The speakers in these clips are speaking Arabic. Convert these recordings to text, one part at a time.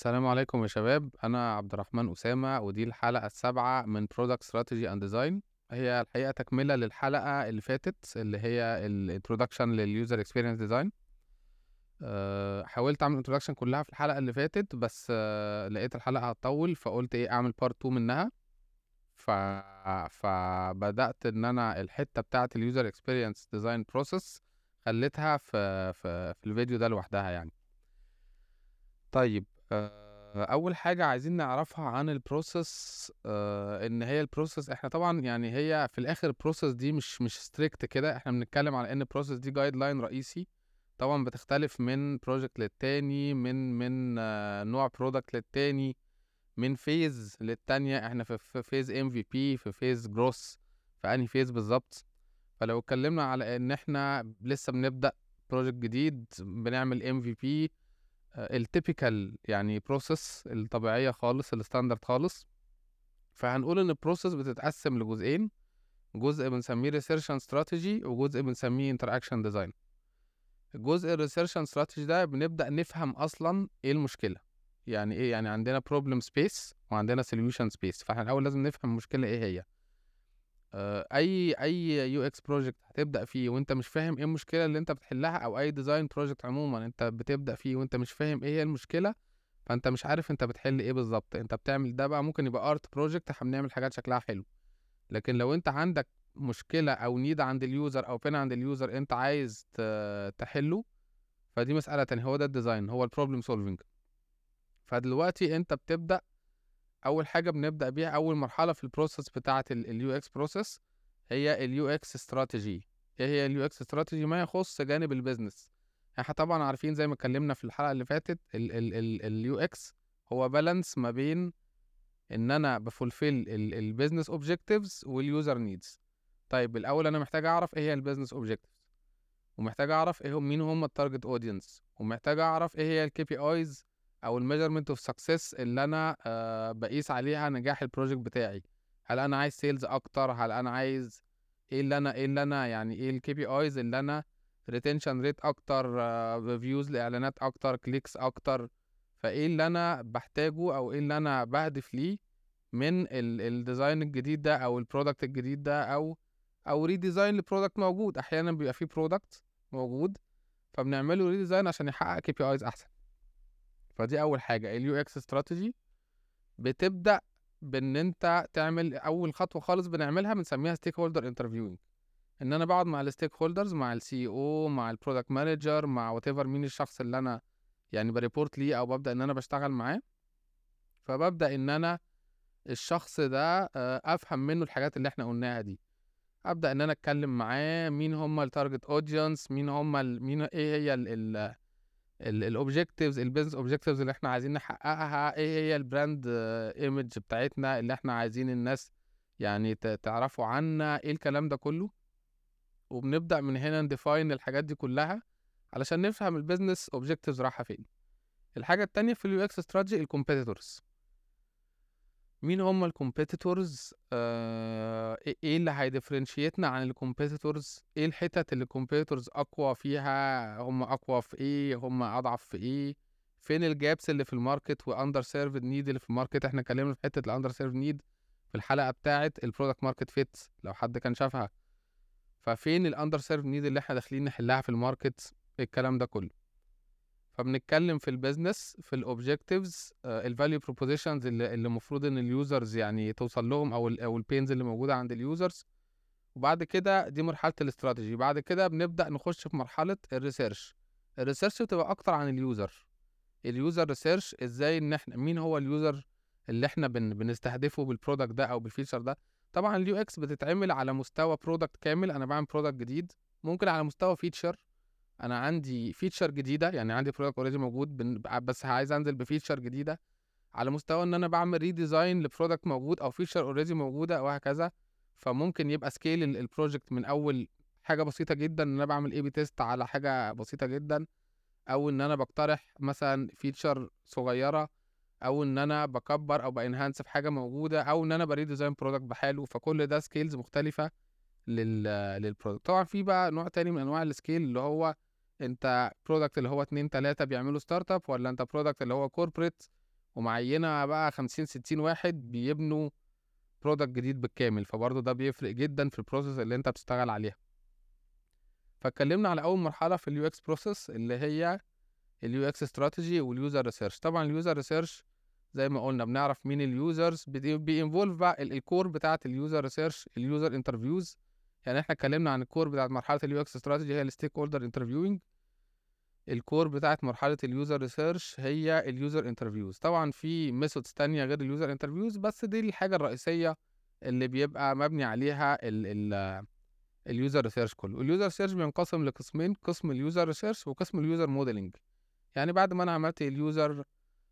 السلام عليكم يا شباب، أنا عبد الرحمن أسامة ودي الحلقة السابعة من Product Strategy and Design. هي الحقيقة تكملة للحلقة اللي فاتت اللي هي ال Introduction لل User Experience Design. حاولت أعمل Introduction كلها في الحلقة اللي فاتت بس لقيت الحلقة هتطول فقلت إيه أعمل Part 2 منها. ف... فبدأت إن أنا الحتة بتاعة ال User Experience Design Process خليتها في الفيديو ده لوحدها يعني. طيب أول حاجة عايزين نعرفها عن البروسيس إن هي البروسيس إحنا طبعا يعني هي في الآخر البروسيس دي مش ستريكت كده، إحنا بنتكلم على إن البروسيس دي جايد لاين رئيسي. طبعا بتختلف من بروجكت للتاني، من نوع برودكت للتاني، من فيز للتانية. إحنا في فيز MVP، في فيز جروس، في أنهي فيز بالظبط. فلو اتكلمنا على إن إحنا لسه بنبدأ بروجكت جديد بنعمل MVP، التيبيكال يعني بروسيس الطبيعية خالص الستاندرد خالص. فهنقول ان البروسيس بتتقسم لجزئين، جزء بنسميه ريسيرش اند استراتيجي وجزء بنسميه انتراكشن ديزاين. الجزء الريسيرش اند استراتيجي ده بنبدأ نفهم اصلا ايه المشكلة، يعني ايه، يعني عندنا بروبلم سبيس وعندنا سوليوشن سبيس. فاحنا الاول لازم نفهم المشكلة ايه هي. اي يو اكس بروجكت هتبدأ فيه وانت مش فاهم ايه المشكلة اللي انت بتحلها، او اي ديزاين بروجكت عموما انت بتبدأ فيه وانت مش فاهم ايه هي المشكلة، فانت مش عارف انت بتحل ايه بالظبط. انت بتعمل ده بقى ممكن يبقى ارت بروجكت، احنا بنعمل حاجات شكلها حلو، لكن لو انت عندك مشكله او نيد عند اليوزر او بين عند اليوزر انت عايز تحله، فدي مساله تانية. هو ده الديزاين، هو البروبلم سولفينج. فدلوقتي انت بتبدا، اول حاجه بنبدا بيها اول مرحله في البروسيس بتاعه اليو اكس بروسيس هي اليو اكس استراتيجي. ايه هي اليو اكس استراتيجي؟ ما يخص جانب البيزنس. احنا طبعا عارفين زي ما اتكلمنا في الحلقه اللي فاتت اليو اكس هو بالانس ما بين ان انا بفولفيل البيزنس اوبجكتيفز واليوزر نيدز. طيب الاول انا محتاج اعرف ايه هي البيزنس اوبجكتيفز، ومحتاج اعرف ايه هم مين هم التارجت اودينس، ومحتاج اعرف ايه هي الكي بي ايز او الميجرمنت اوف سكسس اللي انا بقيس عليها نجاح البروجكت بتاعي. هل انا عايز سيلز اكتر؟ هل انا عايز ايه اللي انا يعني ايه الكي بي ايز اللي انا ريتنشن ريت اكتر، فيوز لاعلانات اكتر، كليكس اكتر. فايه اللي انا بحتاجه او ايه اللي انا بهدف ليه من الديزاين الجديد ده او البرودكت الجديد ده، او ريديزاين لبرودكت موجود. احيانا بيبقى فيه برودكت موجود فبنعمله ريديزاين عشان يحقق كي بي ايز احسن. فدي اول حاجه اليو اكس استراتيجي. بتبدا بان انت تعمل اول خطوه خالص بنعملها بنسميها ستيك هولدر انترفيوينج. ان انا بقعد مع الستيك هولدرز، مع السي او، مع البرودكت مانجر، مع وات ايفر مين الشخص اللي انا يعني بريبورت ليه او ببدا ان انا بشتغل معاه. فببدا ان انا الشخص ده افهم منه الحاجات اللي احنا قلناها دي. ابدا ان انا اتكلم معاه مين هم التارجت اودينس، مين ايه هي الاوبجكتيفز، البيزنس اوبجكتيفز اللي احنا عايزين نحققها، ايه هي البراند ايمج بتاعتنا اللي احنا عايزين الناس يعني تعرفوا عنا، ايه الكلام ده كله. وبنبدا من هنا نديفاين الحاجات دي كلها علشان نفهم البيزنس اوبجكتيفز رايحه فين. الحاجه التانية في اليو اكس استراتيجي الكومبيتيتورز. مين هم الكومبيتيتورز؟ ايه اللي هيديفرنشيتنا عن الكومبيتيتورز؟ ايه الحتت اللي الكومبيتيتورز اقوى فيها؟ هم اقوى في ايه؟ هم اضعف في ايه؟ فين الجابس اللي في الماركت واندر سيرفد نيد اللي في الماركت؟ احنا اتكلمنا في حته الاندر سيرفد نيد في الحلقه بتاعه البرودكت ماركت فيت لو حد كان شافها. ففين الاندر سيرفد نيد اللي احنا داخلين نحلها في الماركت؟ الكلام ده كله. فبنتكلم في البيزنس، في الاوبجكتيفز، الفاليو بروبوزيشنز اللي المفروض ان اليوزرز يعني توصل لهم، او البينز اللي موجوده عند اليوزرز. وبعد كده دي مرحله الاستراتيجي. بعد كده بنبدا نخش في مرحله الريسيرش. الريسيرش بتبقى اكتر عن اليوزر ريسيرش، ازاي ان احنا مين هو اليوزر اللي احنا بنستهدفه بالبرودكت ده او بالفيتشر ده. طبعا اليو اكس بتتعمل على مستوى برودكت كامل، انا بعمل برودكت جديد. ممكن على مستوى فيتشر، انا عندي فيتشر جديده، يعني عندي برودكت اوريدي موجود بس عايز انزل بفيتشر جديده. على مستوى ان انا بعمل ريديزاين لبرودكت موجود او فيتشر اوريدي موجوده وهكذا. فممكن يبقى سكيل البروجكت من اول حاجه بسيطه جدا ان انا بعمل اي بي تيست على حاجه بسيطه جدا، او ان انا بقترح مثلا فيتشر صغيره، او ان انا بكبر او بانهانس في حاجه موجوده، او ان انا بريديزاين برودكت بحاله. فكل ده سكيلز مختلفه للبرودكت. طبعا في بقى نوع تاني من انواع السكيل اللي هو انت برودكت اللي هو 2 3 بيعملوا ستارت اب، ولا انت برودكت اللي هو كوربريت ومعينة بقى 50 60 واحد بيبنوا برودكت جديد بالكامل، فبرضه ده بيفرق جدا في البروسيس اللي انت بتشتغل عليها. فاتكلمنا على اول مرحله في اليو اكس بروسيس اللي هي اليو اكس استراتيجي واليوزر ريسيرش. طبعا اليوزر ريسيرش زي ما قلنا بنعرف مين اليوزرز، بينفولف بقى الكور بتاعه اليوزر ريسيرش اليوزر انترفيوز. يعني احنا اتكلمنا عن الكور بتاعه مرحله اليو اكس استراتيجي هي الستيك هولدر انترفيوينج، الكور بتاعه مرحله اليوزر ريسيرش هي اليوزر انترفيوز. طبعا في ميثودز تانية غير اليوزر انترفيوز، بس دي الحاجه الرئيسيه اللي بيبقى مبني عليها اليوزر ريسيرش كله. اليوزر ريسيرش بينقسم لقسمين، قسم اليوزر ريسيرش وقسم اليوزر موديلنج. يعني بعد ما انا عملت اليوزر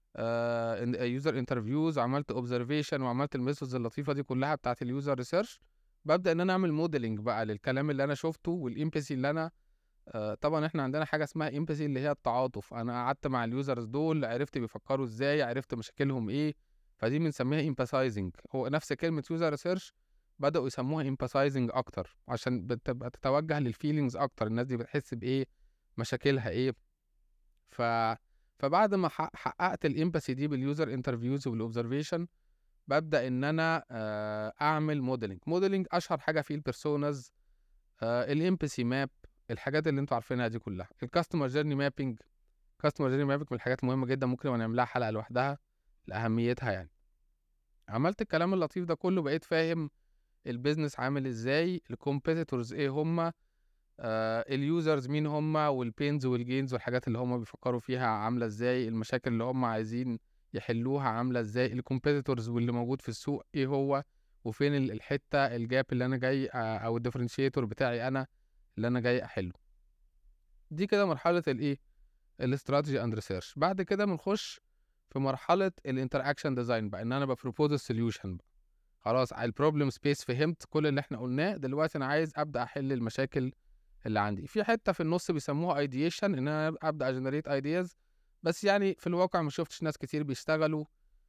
يوزر انترفيوز وعملت اوبزرفيشن وعملت الميثودز اللطيفه دي كلها بتاعه اليوزر ريسيرش، ببدا ان انا اعمل موديلنج بقى للكلام اللي انا شفته والامباثي اللي انا طبعا احنا عندنا حاجه اسمها امباثي اللي هي التعاطف. انا قعدت مع اليوزرز دول، عرفت بيفكروا ازاي، عرفت مشاكلهم ايه، فدي بنسميها امباثايزنج. هو نفس كلمه يوزر ريسيرش بداوا يسموها امباثايزنج اكتر عشان بتبقى تتوجه للفيلينجز اكتر، الناس دي بتحس بايه، مشاكلها ايه. ف فبعد ما حققت الامباثي دي باليوزر انترفيوز وبالاوبزرفيشن، ببدا ان انا اعمل موديلنج اشهر حاجه فيه البيرسوناز، الامباثي ماب، الحاجات اللي انتوا عارفينها دي كلها. الكاستمر جيرني مابينج، كاستمر جيرني مابينج من الحاجات المهمه جدا، ممكن نعملها حلقه لوحدها لاهميتها. يعني عملت الكلام اللطيف ده كله، بقيت فاهم البيزنس عامل ازاي، الكومبيتيتورز ايه هما، اليوزرز مين هما، والبينز والجينز والحاجات اللي هما بيفكروا فيها عامله ازاي، المشاكل اللي هما عايزين يحلوها عامله ازاي، الكومبيتيتورز واللي موجود في السوق ايه هو، وفين الحته الجاب اللي انا جاي او الديفرنشيتور بتاعي انا اللي انا جاي احله. دي كده مرحله الايه، الاستراتيجي اند ريسيرش. بعد كده بنخش في مرحله الانتراكشن ديزاين بقى، ان انا ببروبوز السوليوشن بقى. خلاص البروبلم سبيس فهمت كل اللي احنا قلناه، دلوقتي انا عايز ابدا احل المشاكل اللي عندي. في حته في النص بيسموها ايديشن، ان انا ابدا اجنريت ايدياز، بس يعني في الواقع ما شفتش ناس كتير بيشتغلوا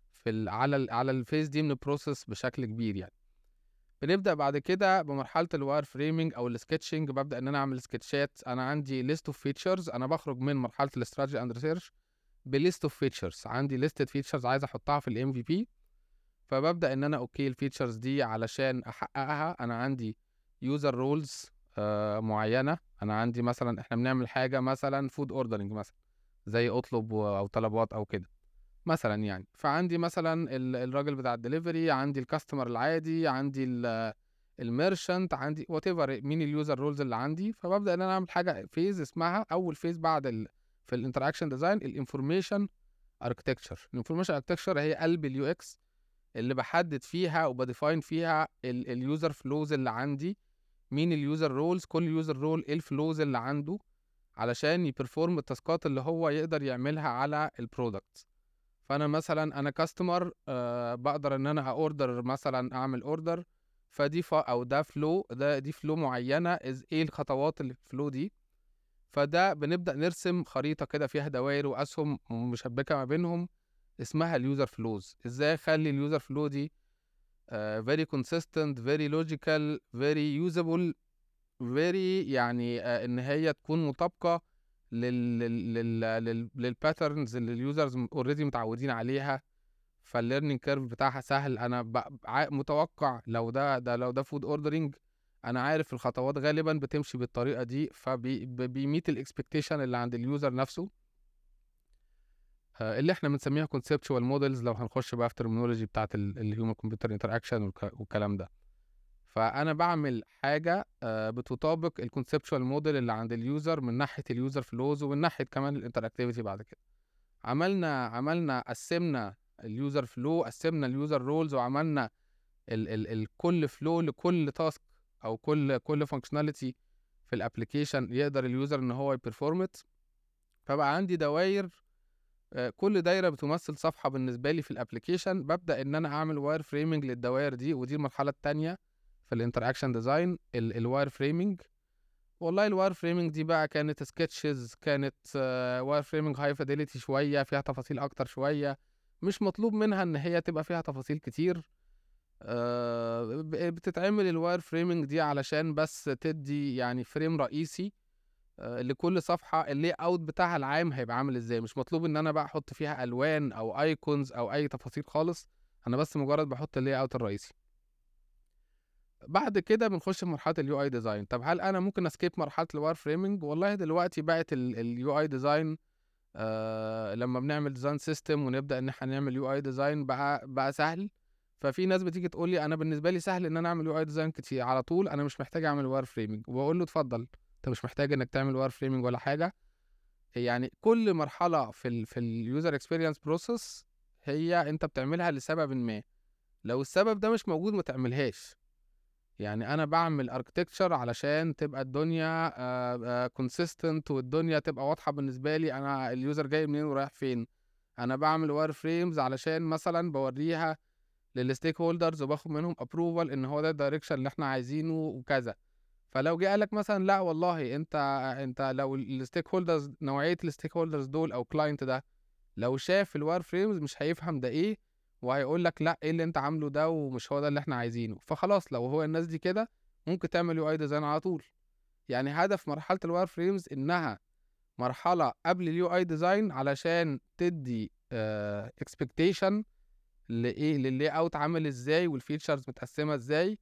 على الفيز دي من البروسيس بشكل كبير. يعني بنبدا بعد كده بمرحله الواير فريمنج او السكتشنج، ببدا ان انا اعمل سكتشات. انا عندي ليست اوف فيتشرز، انا بخرج من مرحله الاستراتيجي اند ريسيرش بليست اوف فيتشرز، عندي ليستد فيتشرز عايز احطها في الام في بي. فببدا ان انا اوكي الفيتشرز دي علشان احققها انا عندي يوزر رولز معينه. انا عندي مثلا احنا بنعمل حاجه مثلا فود اوردرنج مثلا، زي اطلب او طلبات او كده مثلا. يعني فعندي مثلا الراجل بتاع الدليفري، عندي الكاستمر العادي، عندي الميرشنت، عندي وات ايفر مين اليوزر رولز اللي عندي. فببدا ان انا اعمل حاجه فيز اسمها اول فيز بعد في الانتراكشن ديزاين الانفورميشن اركتكتشر. الانفورميشن اركتكتشر هي قلب اليو اكس، اللي بحدد فيها وبديفاين فيها اليوزر فلوز اللي عندي، مين اليوزر رولز، كل يوزر رول ايه الفلوز اللي عنده علشان يبرفورم التاسكات اللي هو يقدر يعملها على البرودكت. فانا مثلا انا كاستمر بقدر ان انا اوردر مثلا، اعمل اوردر، فدي او ده فلو، دي فلو معينه، ايه الخطوات اللي في الفلو دي. فده بنبدا نرسم خريطه كده فيها دوائر واسهم مشبكه ما بينهم اسمها اليوزر فلوز. ازاي اخلي اليوزر فلو دي very consistent very logical very usable very يعني ان هي تكون مطابقه للباترنز اللي اليوزرز اوريدي متعودين عليها. فالليرنينج كيرف بتاعها سهل، انا متوقع لو ده فود اوردرنج، انا عارف الخطوات غالبا بتمشي بالطريقه دي، فبيميت الاكسبكتيشن اللي عند اليوزر نفسه، اللي احنا بنسميها conceptual models لو هنخش بقى في terminology بتاعت الهيومن كمبيوتر انتراكشن والكلام ده. فانا بعمل حاجه بتطابق الكونسبشوال موديل اللي عند اليوزر من ناحيه اليوزر فلوز ومن ناحيه كمان الانتراكتيفيتي. بعد كده عملنا قسمنا اليوزر فلو، قسمنا اليوزر رولز، وعملنا كل فلو لكل تاسك او كل فانكشناليتي في الابلكيشن يقدر اليوزر ان هو يبرفورمت. فبقى عندي دوائر، كل دايره بتمثل صفحه بالنسبه لي في الابلكيشن. ببدا ان انا اعمل واير فريمنج للدوائر دي، ودي المرحله الثانيه في الانتراكشن ديزاين، الواير فريمنج. والله الواير فريمنج دي بقى كانت سكتشز، كانت واير فريمنج هاي فيديليتي شويه، فيها تفاصيل اكتر شويه، مش مطلوب منها ان هي تبقى فيها تفاصيل كتير. بتتعمل الواير فريمنج دي علشان بس تدي يعني فريم رئيسي لكل صفحة الlayout بتاعها العام هيبقى عامل إزاي، مش مطلوب إن أنا بقى أحط فيها ألوان أو icons أو أي تفاصيل خالص، أنا بس مجرد باحط الlayout الرئيسي. بعد كده بنخش في مرحلة الUI design. طب هل أنا ممكن أskip مرحلة الwireframing؟ والله دلوقتي بقت الUI design لمّا بنعمل design system ونبدأ إن إحنا نعمل UI design بقى سهل. ففي ناس بتيجي تقول لي أنا بالنسبة لي سهل إن أنا أعمل UI design كتير على طول، أنا مش محتاج أعمل wireframing. وباقول له اتفضل، أنت مش محتاج إنك تعمل wireframing ولا حاجة. يعني كل مرحلة في الuser experience process هي أنت بتعملها لسببٍ ما، لو السبب ده مش موجود ما تعملهاش. يعني أنا باعمل architecture علشان تبقى الدنيا consistent والدنيا تبقى واضحة بالنسبة لي أنا الuser جاي منين ورايح فين. أنا باعمل wireframes علشان مثلًا باورّيها للstakeholders وباخد منهم approval إن هو ده الdirection اللي إحنا عايزينه وكذا. فلو جه قال لك مثلًا لأ والله أنت لو الstakeholders نوعية الstakeholders دول أو الclient ده لو شاف الwireframes مش هيفهم ده إيه، وهيقول لك لأ إيه اللي أنت عامله ده ومش هو ده اللي إحنا عايزينه. فخلاص لو هو الناس دي كده ممكن تعمل UI design على طول. يعني هدف مرحلة الwireframes إنها مرحلة قبل الUI design علشان تدّي expectation للlayout عامل إزاي والfeatures متقسمة إزاي.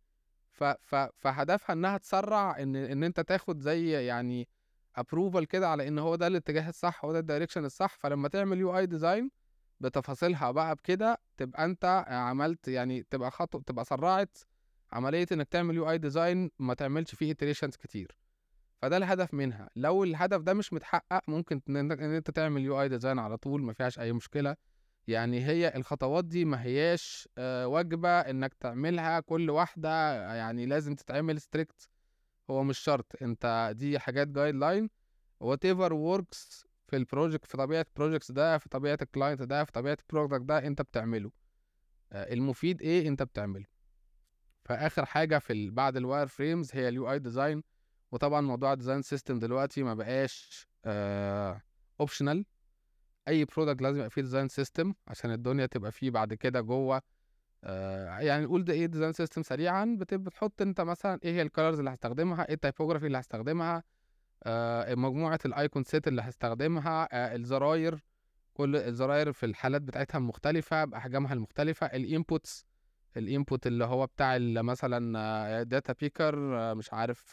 فهدفها إنها تسرّع إن أنت تاخد زي يعني approval كده على إن هو ده الاتجاه الصح، هو ده الdirection الصح. فلمّا تعمل UI design بتفاصيلها بقى بكده تبقى أنت عملت يعني تبقى سرّعت عملية إنك تعمل UI design ما تعملش فيه iterations كتير. فده الهدف منها. لو الهدف ده مش متحقق ممكن إن أنت تعمل UI design على طول ما فيهاش أي مشكلة. يعني هي الخطوات دي ما هياش واجبة إنك تعملها كل واحدة يعني لازم تتعمل strict. هو مش شرط، أنت دي حاجات guideline whatever works في الproject في طبيعة الprojects ده، في طبيعة الclient ده، في طبيعة الproduct ده أنت بتعمله. المفيد إيه أنت بتعمله. فآخر حاجة بعد الwireframes هي الUI design. وطبعًا موضوع الdesign system دلوقتي ما بقاش optional. أي product لازم يبقى فيه design system عشان الدنيا تبقى فيه بعد كده جوّه. يعني نقول ده إيه design system سريعًا، بتحط أنت مثلًا إيه هي الcolors اللي هاستخدمها، إيه الtypography اللي هاستخدمها، مجموعة الicon set اللي هاستخدمها، الزراير، كل الزراير في الحالات بتاعتها المختلفة بأحجامها المختلفة، الinput اللي هو بتاع مثلًا data picker، مش عارف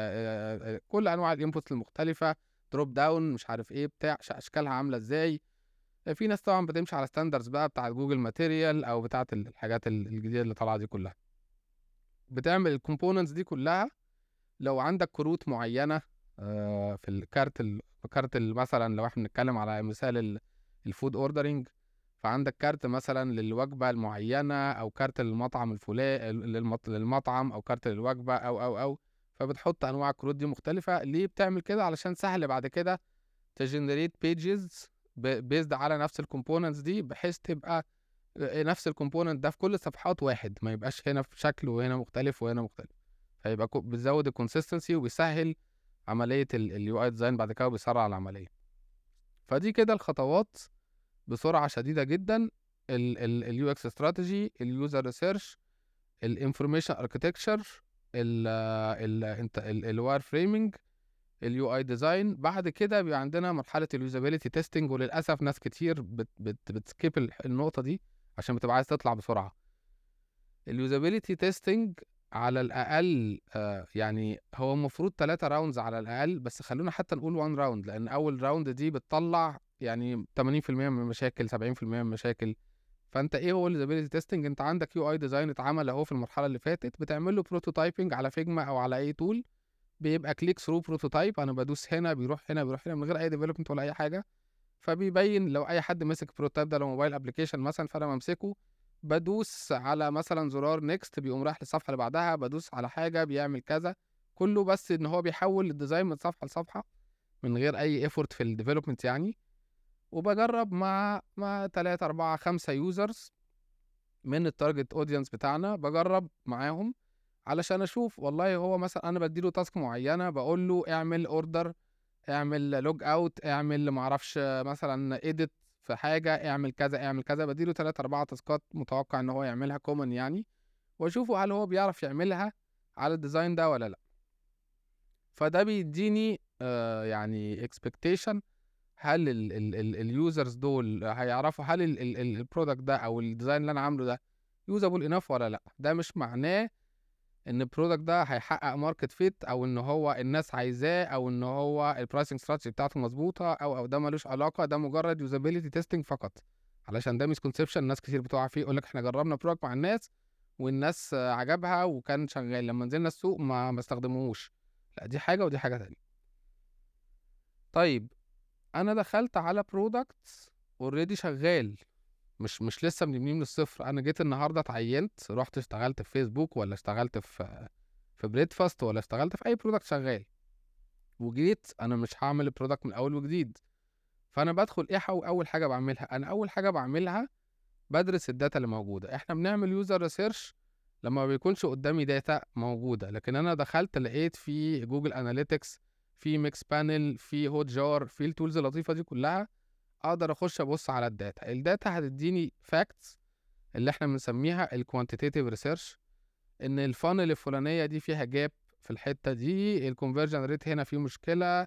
كل أنواع الinputs المختلفة، drop down مش عارف إيه بتاع أشكالها عاملة إزاي. في ناس طبعًا بتمشي على standards بقى بتاعة Google Material أو بتاعة الحاجات الجديدة اللي طالعة دي كلّها. بتعمل الcomponents دي كلّها. لو عندك كروت معيّنة في كارت مثلًا لو إحنا بنتكلم على مثال الfood ordering، فعندك كارت مثلًا للوجبة المعيّنة أو كارت للمطعم للمطعم أو كارت للوجبة أو. فبتحط أنواع الكروت دي مختلفة. ليه بتعمل كده؟ علشان سهل بعد كده تgenerate pages based على نفس الcomponents دي، بحيث تبقى نفس الcomponent ده في كل الصفحات واحد، ما يبقاش هنا في شكل وهنا مختلف وهنا مختلف. فيبقى بتزود الconsistency وبيسهّل عملية الUI design بعد كده وبيسرّع العملية. فدي كده الخطوات بسرعة شديدة جدًا. الUX strategy، الuser research، الinformation architecture، ال ال أنت الwireframing، الUI design. بعد كده بيبقى عندنا مرحلة الusability testing. وللأسف ناس كتير بتskip النقطة دي عشان بتبقى عايز تطلع بسرعة. الusability testing على الأقل يعني هو المفروض 3 rounds على الأقل، بس خلّونا حتى نقول 1 round لأن أول round دي بتطلّع يعني 80% من المشاكل، 70% من المشاكل. فأنت إيه هو الusability testing؟ أنت عندك UI design اتعمل أهو في المرحلة اللي فاتت، بتعمل له prototyping على Figma أو على أي tool. بيبقى click through prototype، أنا بادوس هنا بيروح هنا، بيروح هنا من غير أي development ولا أي حاجة. فبيبين لو أي حد مسك الprototype ده لو موبايل application مثلًا، فأنا بامسكه بادوس على مثلًا زرار next بيقوم رايح للصفحة اللي بعدها، بادوس على حاجة بيعمل كذا. كله بس إن هو بيحوّل الdesign من صفحة لصفحة من غير أي effort في الdevelopment يعني. وباجرّب مع 3، 4، 5 users من الtarget audience بتاعنا، باجرّب معاهم علشان أشوف والله هو مثلًا أنا بادّي له task معيّنة، باقول له اعمل order، اعمل log out، اعمل ما أعرفش مثلًا edit في حاجة، اعمل كذا، اعمل كذا. بادّي له 3، 4 تاسكات متوقع إن هو يعملها common يعني، وأشوفه هل هو بيعرف يعملها على الdesign ده والّا لأ. فده بيدّيني يعني expectation، هل اليوزرز دول هيعرفوا هل البرودكت ده او الديزاين اللي انا عامله ده يوزابل انف ولا لا. ده مش معناه ان البرودكت ده هيحقق ماركت فيت، او ان هو الناس عايزاه، او ان هو البرايسنج ستراتيجي بتاعته مظبوطه، او ده ملوش علاقه. ده مجرد يوزابيلتي تيستنج فقط، علشان ده مسكونسبشن ناس كتير بتقع فيه. يقول لك احنا جربنا برودكت مع الناس والناس عجبها وكان شغال، لما نزلنا السوق ما استخدموهوش. لا، دي حاجه ودي حاجه تانية. طيب انا دخلت على برودكت اوريدي شغال، مش لسه بنبنيه من الصفر. انا جيت النهارده اتعينت، رحت اشتغلت في فيسبوك، ولا اشتغلت في بريدفاست، ولا اشتغلت في اي برودكت شغال، وجيت انا مش هعمل البرودكت من اول وجديد. فانا بدخل ايه اول حاجه بعملها؟ انا اول حاجه بعملها بدرس الداتا اللي موجوده. احنا بنعمل يوزر ريسيرش لما ما بيكونش قدامي داتا موجوده، لكن انا دخلت لقيت في جوجل اناليتكس، في ميكس بانل، في هوت جار، في التولز اللطيفه دي كلها، اقدر اخش ابص على الداتا. الداتا هتديني فاكتس اللي احنا بنسميها الكوانتيتيف ريسيرش، ان الفانل الفلانيه دي فيها جاب في الحته دي، الكونفرجن ريت هنا فيه مشكله.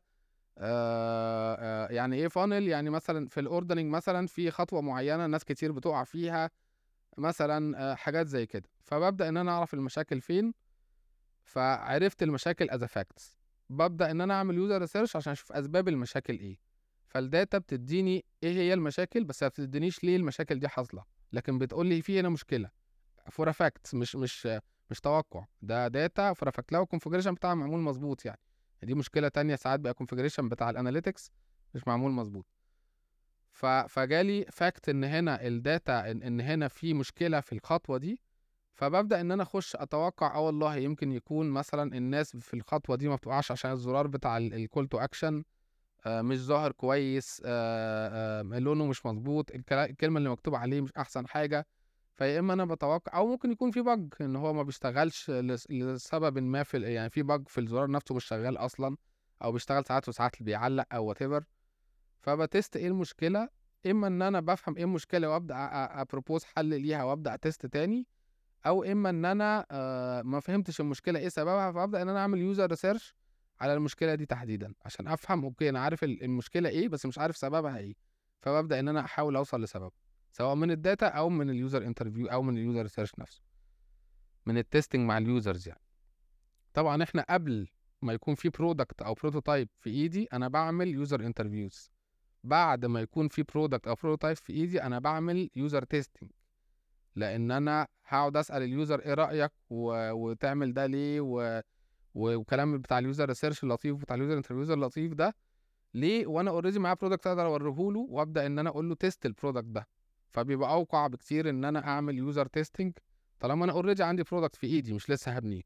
يعني ايه فانل؟ يعني مثلا في الاوردرنج مثلا في خطوه معينه ناس كتير بتقع فيها مثلا، حاجات زي كده. فببدا ان انا اعرف المشاكل فين. فعرفت المشاكل از فاكتس، ببدا ان انا اعمل يوزر ريسيرش عشان اشوف اسباب المشاكل ايه. فالداتا بتديني ايه هي المشاكل، بس ما بتدينيش ليه المشاكل دي حاصله، لكن بتقول لي في هنا مشكله فور فاكتس، مش توقع. ده داتا فور فاكت لو الكونفجريشن بتاعها معمول مظبوط يعني. دي مشكله تانية، ساعات بقى الكونفجريشن بتاع الاناليتكس مش معمول مظبوط. فجالي فاكت ان هنا الداتا ان هنا في مشكله في الخطوه دي. فببدا ان انا اخش اتوقع، والله يمكن يكون مثلا الناس في الخطوه دي ما بتوقعش عشان الزرار بتاع الكول تو اكشن مش ظاهر كويس، لونه مش مظبوط، الكلمه اللي مكتوب عليه مش احسن حاجه. فيا اما انا بتوقع، او ممكن يكون في بج ان هو ما بيشتغلش لسبب ما، في يعني في بج في الزرار نفسه مش شغال اصلا، او بيشتغل ساعات وساعات بيعلق او وات ايفر. فبتست ايه المشكله. اما ان انا بفهم ايه المشكله وابدا ابروبوز حل ليها وابدا اتست تاني، او اما ان انا ما فهمتش المشكله ايه سببها، فابدا ان انا اعمل يوزر ريسيرش على المشكله دي تحديدا عشان افهم. اوكي، انا عارف المشكله ايه بس مش عارف سببها ايه، فببدا ان انا احاول اوصل لسبب، سواء من الداتا او من اليوزر انترفيو او من اليوزر ريسيرش نفسه، من التستنج مع اليوزرز يعني. طبعا احنا قبل ما يكون في برودكت او بروتوتايب في ايدي انا بعمل يوزر انترفيوز. بعد ما يكون في برودكت او بروتوتايب في ايدي انا بعمل يوزر تيستنج، لان انا هقعد اسال اليوزر ايه رايك وتعمل ده ليه وكلام بتاع اليوزر ريسيرش اللطيف بتاع اليوزر انترفيوز اللطيف ده ليه، وانا اوريدي معاه برودكت اقدر اوريه له، وابدا ان انا اقول له تيست البرودكت ده. فبيبقى اوقع بكتير ان انا اعمل يوزر تيستنج طالما انا اوريدي عندي برودكت في ايدي مش لسه هبنيه.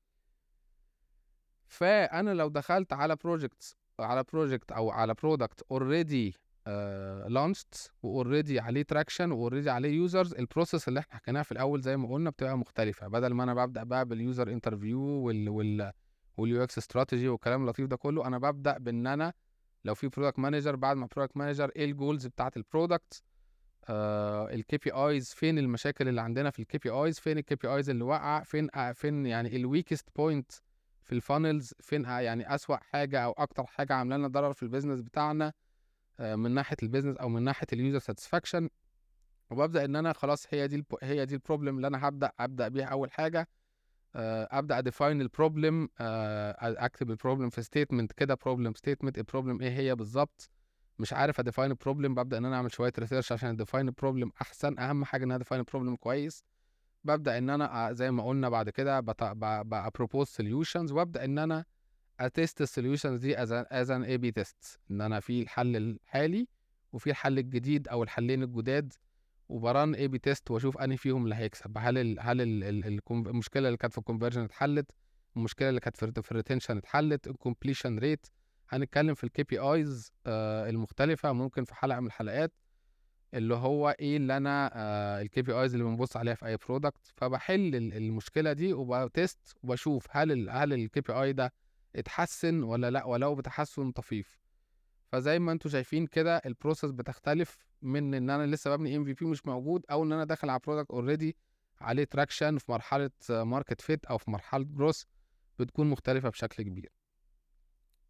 فانا لو دخلت على بروجكت او على برودكت اوريدي لانشت واوريدي عليه تراكشن واوريدي عليه يوزرز، البروسيس اللي احنا حكيناها في الاول زي ما قلنا بتبقى مختلفه. بدل ما انا ببدا بقى باليوزر انترفيو واليو اكس استراتيجي والكلام اللطيف ده كله، انا ببدا بان انا لو في برودكت مانجر، بعد ما برودكت مانجر ايه الجولز بتاعت البرودكت، الكي بي ايز، فين المشاكل اللي عندنا في الكي بي ايز، فين الكي بي ايز اللي واقعه، فين يعني الويكست بوينت في الفانلز، فين يعني اسوأ حاجه او اكتر حاجه عامله لنا ضرر في البيزنس بتاعنا من ناحيه البيزنس او من ناحيه اليوزر ساتسفاكشن. وببدا ان انا خلاص هي دي البروبلم اللي انا ابدا بيها اول حاجه. ابدا اديفاين البروبلم، اكتب البروبلم في ستيتمنت كده، بروبلم ستيتمنت البروبلم ايه هي بالظبط. مش عارف اديفاين البروبلم، ببدا ان انا اعمل شويه ريسيرش عشان اديفاين البروبلم احسن. اهم حاجه ان انا اديفاين البروبلم كويس. ببدا ان انا زي ما قلنا بعد كده ببروبوز سوليوشنز، وابدا ان انا اتست السوليوشنز دي از ان اي بي تيست، ان انا في الحل الحالي وفي الحل الجديد او الحلين الجداد، وبران اي بي تيست واشوف انهي فيهم اللي هيكسب. المشكله اللي كانت في الكونفرجن اتحلت، المشكله اللي كانت في الريتنشن اتحلت، الكومبليشن ريت. هنتكلم في الكي بي ايز المختلفه ممكن في حلقه من الحلقات، اللي هو ايه اللي انا الكي بي ايز اللي بنبص عليها في اي برودكت. فبحل المشكله دي وبتست وبشوف هل الكي بي اي ده اتحسن ولا لا، ولو بتحسن طفيف. فزي ما انتم شايفين كده البروسيس بتختلف من ان انا لسه ببني ام في بي مش موجود، او ان انا داخل على برودكت اوريدي عليه تراكشن في مرحله ماركت فيت او في مرحله جروس، بتكون مختلفه بشكل كبير.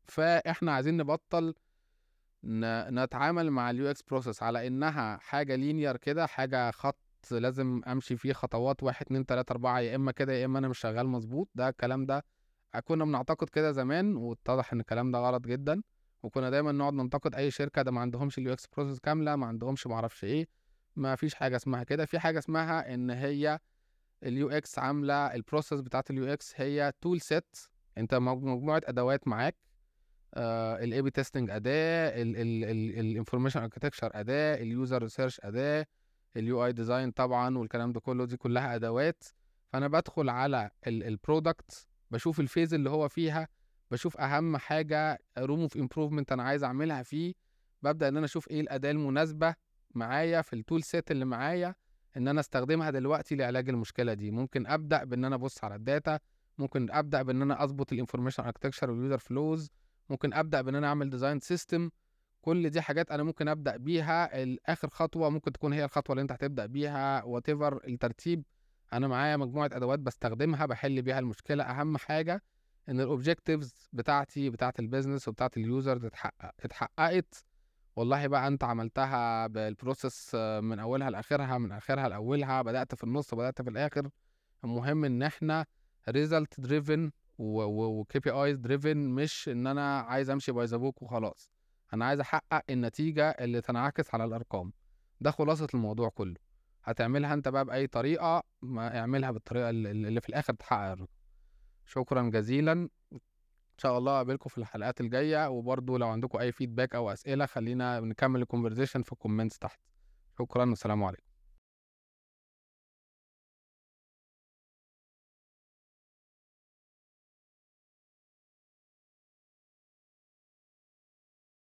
فإحنا عايزين نبطّل نتعامل مع الUX process على إنها حاجة linear كده، حاجة خط لازم أمشي فيه خطوات 1، 2، 3، 4 يا إما كده يا إما أنا مش شغال مضبوط. ده الكلام ده كنا بنعتقد كده زمان، واتضح إن الكلام ده غلط جدًا، وكنا دايمًا نقعد ننتقد أي شركة، ده ما عندهمش الUX process كاملة، ما عندهمش ما أعرفش إيه. ما فيش حاجة اسمها كده، في حاجة اسمها إن هي الUX عاملة الprocess بتاعة الUX هي tool set. أنت مجموعة أدوات معاك، الA/B testing أداة، الinformation architecture أداة، الuser research أداة، الUI design طبعًا والكلام ده كله، دي كلها أدوات. فأنا بادخل على الproduct، باشوف الphase اللي هو فيها، باشوف أهم حاجة room of improvement أنا عايز أعملها فيه، بابدأ إن أنا أشوف إيه الأداة المناسبة معايا في الtool set اللي معايا إن أنا أستخدمها دلوقتي لعلاج المشكلة دي. ممكن أبدأ بإن أنا أبُص على الdata، ممكن أبدأ بإن أنا أضبط الinformation architecture والuser flows، ممكن أبدأ بإن أنا أعمل design system. كل دي حاجات أنا ممكن أبدأ بيها. آخر خطوة ممكن تكون هي الخطوة اللي أنت هتبدأ بيها whatever الترتيب. أنا معايا مجموعة أدوات باستخدمها باحل بيها المشكلة. أهم حاجة إن الobjectives بتاعتي بتاعة الbusiness وبتاعة الuser تتحقق. اتحققت، والله بقى أنت عملتها بالprocess من أولها لآخرها، من آخرها لأولها، بدأت في النُص، بدأت في الآخر. المهم إن إحنا result driven وKPIs driven، مش إن أنا عايز أمشي by the book وخلاص. أنا عايز أحقق النتيجة اللي تنعكس على الأرقام. ده خلاصة الموضوع كله. هتعملها أنت بقى بأي طريقة، ما اعملها بالطريقة اللي في الآخر تحقق الرقم. شكرًا جزيلًا. إن شاء الله أقابلكم في الحلقات الجاية، وبرضه لو عندكم أي feedback أو أسئلة خلّينا نكمل الconversation في الcomments تحت. شكرًا والسلام عليكم.